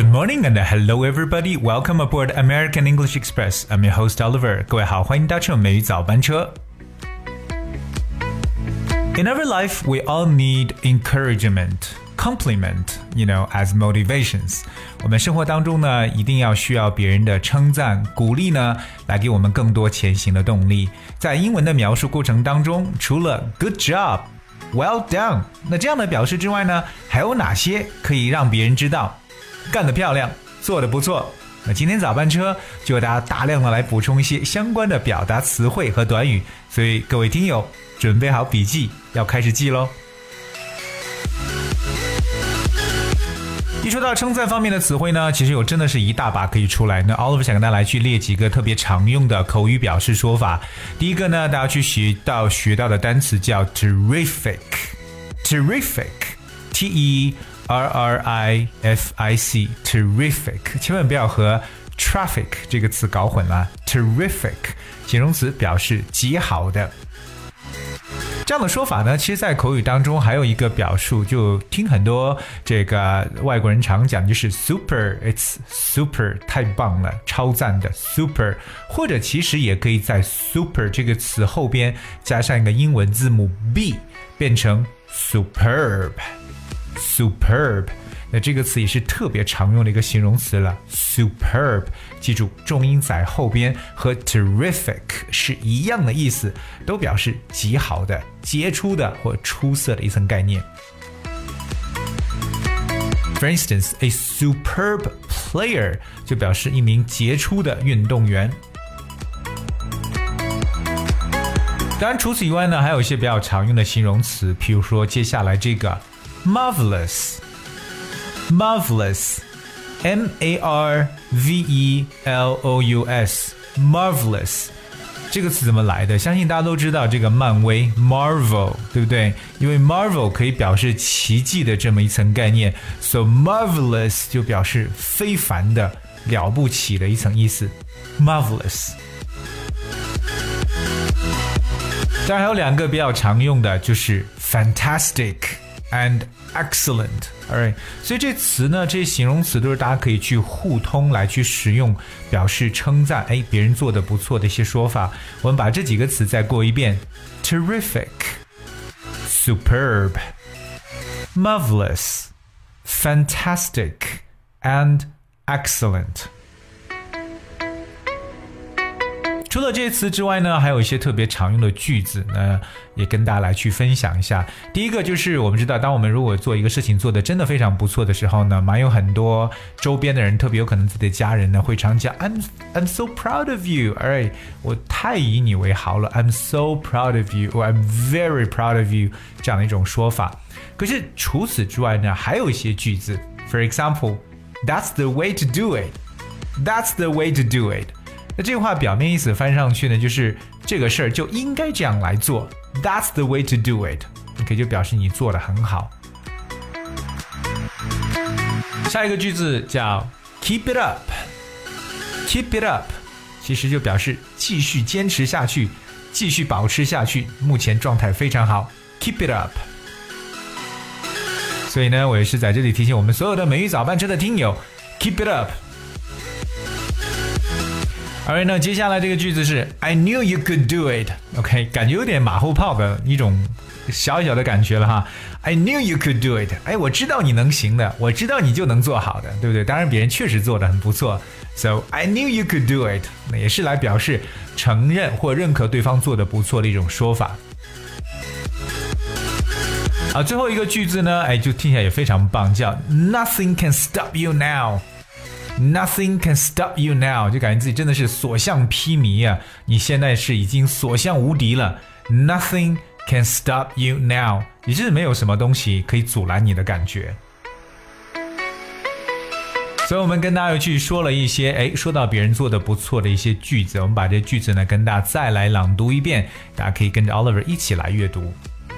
Good morning and hello everybody. Welcome aboard American English Express. I'm your host Oliver. 各位好，欢迎搭乘美语早班车。In our life, we all need encouragement, compliment, as motivations. 我们生活当中呢，一定要需要别人的称赞、鼓励呢，来给我们更多前行的动力。在英文的描述过程当中，除了 good job、well done， 那这样的表示之外呢，还有哪些可以让别人知道干得漂亮，做得不错？那今天早班车就为大家大量的来补充一些相关的表达词汇和短语，所以各位听友准备好笔记，要开始记咯。一说到称赞方面的词汇呢，其实有真的是一大把可以出来。那 Oliver 想跟大家来去列几个特别常用的口语表示说法。第一个呢，大家去学到的单词叫 terrific， T-E-R-R-I-F-I-C， terrific， 千万不要和 traffic 这个词搞混了。terrific 形容词表示极好的。这样的说法呢，其实在口语当中还有一个表述，就听很多这个外国人常讲，就是 super， it's super， 太棒了，超赞的 super， 或者其实也可以在 super 这个词后边加上一个英文字母 B， 变成 superb。那这个词也是特别常用的一个形容词了 superb， 记住重音在后边，和 terrific 是一样的意思，都表示极好的、杰出的或出色的一层概念。 For instance, a superb player 就表示一名杰出的运动员。当然除此以外呢，还有一些比较常用的形容词，譬如说接下来这个 marvelous， M-A-R-V-E-L-O-U-S Marvelous 这个词怎么来的？相信大家都知道这个漫威 Marvel， 对不对？因为 Marvel 可以表示奇迹的这么一层概念， So marvelous 就表示非凡的、了不起的一层意思 Marvelous。 当然还有两个比较常用的，就是 fantastic and excellent， alright， 所以这词呢，这些形容词都是大家可以去互通来去使用，表示称赞，别人做得不错的一些说法。我们把这几个词再过一遍 ：terrific、superb、marvelous、fantastic and excellent。除了这些词之外呢，还有一些特别常用的句子呢，也跟大家来去分享一下。第一个就是我们知道，当我们如果做一个事情做得真的非常不错的时候呢，蛮有很多周边的人，特别有可能自己的家人呢，会常讲 I'm so proud of you， alright， 我太以你为豪了 I'm so proud of you， or I'm very proud of you， 这样的一种说法。可是除此之外呢，还有一些句子 For example, that's the way to do it， That's the way to do it。那这句话表面意思翻上去呢，就是这个事儿就应该这样来做 That's the way to do it， OK， 就表示你做得很好。下一个句子叫 Keep it up， Keep it up 其实就表示继续坚持下去，继续保持下去，目前状态非常好 Keep it up。 所以呢，我也是在这里提醒我们所有的美语早班车的听友 Keep it up。Alright， 那接下来这个句子是 I knew you could do it， OK， 感觉有点马后炮的一种小小的感觉了哈。I knew you could do it， 我知道你能行的，我知道你就能做好的，对不对？当然别人确实做得很不错 So I knew you could do it， 那也是来表示承认或认可对方做得不错的一种说法。好，最后一个句子呢，就听起来也非常棒，叫 Nothing can stop you now，Nothing can stop you now， 就感觉自己真的是所向披靡啊！你现在是已经所向无敌了 Nothing can stop you now， 也就是没有什么东西可以阻拦你的感觉。所以我们跟大家去说了一些说到别人做的不错的一些句子，我们把这些句子呢跟大家再来朗读一遍，大家可以跟着 Oliver 一起来阅读。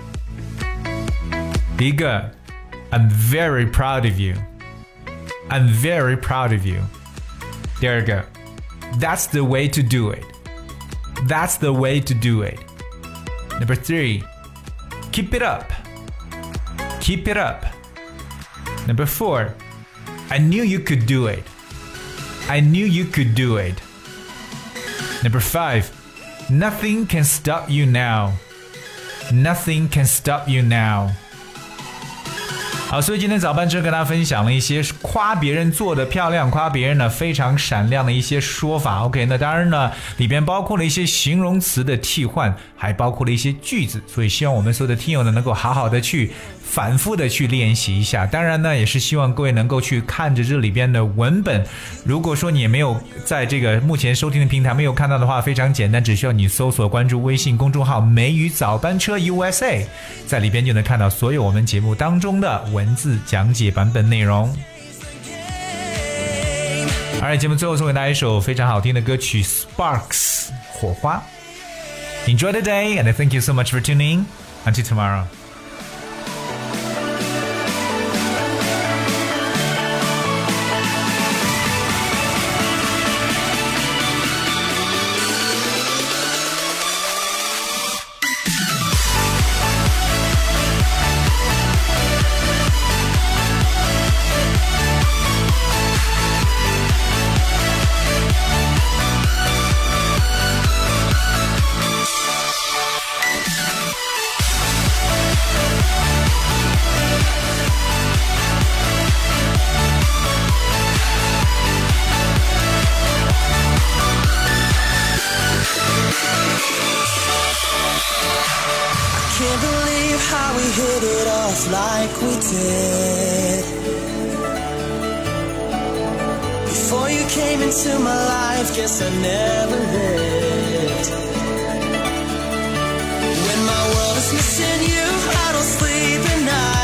第一个 I'm very proud of you，I'm very proud of you. 第二个 That's the way to do it. That's the way to do it. Number 3 Keep it up. Keep it up. Number 4 I knew you could do it. I knew you could do it. Number 5. Nothing can stop you now. Nothing can stop you now. 好，所以今天早班车跟大家分享了一些夸别人做的漂亮，夸别人呢非常闪亮的一些说法。OK， 那当然呢，里边包括了一些形容词的替换，还包括了一些句子。所以希望我们所有的听友呢，能够好好的去反复的去练习一下。当然呢，也是希望各位能够去看着这里边的文本。如果说你也没有在这个目前收听的平台没有看到的话，非常简单，只需要你搜索关注微信公众号梅雨早班车 USA， 在里边就能看到所有我们节目当中的文字讲解版本内容。而节目最后送给大家一首非常好听的歌曲 Sparks 火花。 Enjoy the day and thank you so much for tuning in. Until tomorrow. Can't believe how we hit it off like we did. Before you came into my life, guess I never lived. When my world is missing you, I don't sleep at night.